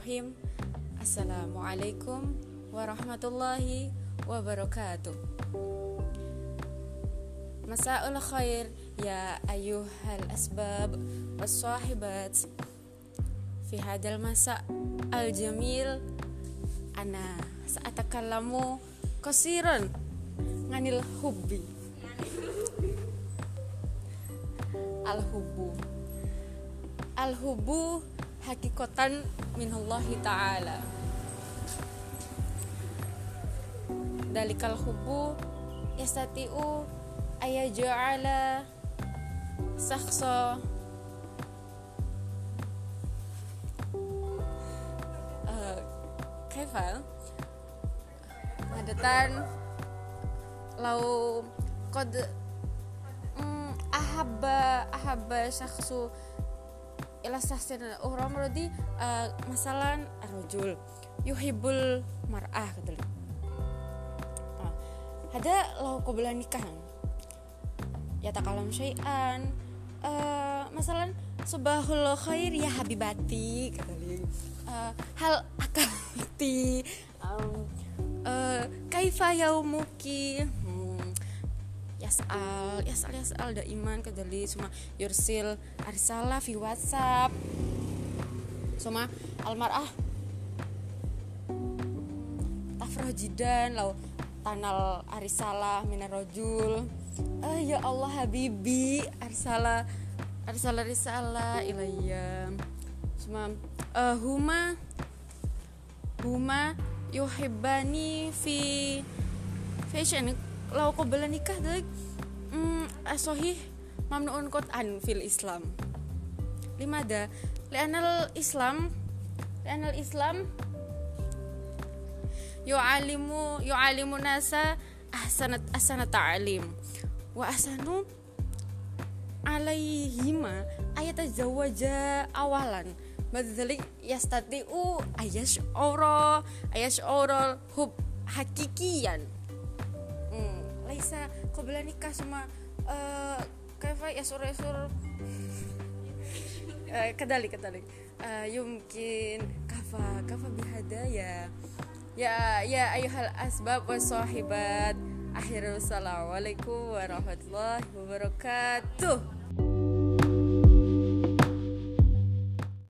Bismillahirrahmanirrahim. Assalamualaikum warahmatullahi wabarakatuh. Masa'ul khair ya ayyuhal asbab was-sahibat. Fi hadal masa' al-jamil ana sa'atakallamu qasiran nganil hubbi. Al-hubbu hakikatan minallahi ta'ala. Dalikal hubbu yastati'u ayaja'ala sakhsa kaifa adatan lau qad ahabba syakhsu ila sahsin orang berarti masalan arrojul yuhibbul mar'ah gitu. Ada lau qabla nikah ya takalam syai'an masalan subahul khair ya habibati kata hal akalti kaifa yaumuki yas'al daiman kadali suma yursil arsalah fi WhatsApp suma almar'ah tafrah jidan lau tanal arisalah minar rajul ya Allah habibi arsala risalah ilayya suma huma yuhibbani fi fashion lau qabla nikah dek asohih mamnuun qat'an fil Islam. Limada li'anal Islam yu'alimu nasa ahsana ta'alim wa ahsanu alaihima ayatazawaja awalan badzalik yastati'u ayash'ura hub hakikiyan laisa qabla nikah semua kaifa yasur kadalik yumkin kafa bihada ya ayyuhal asbab was sahibat. Assalamualaikum warahmatullahi wabarakatuh.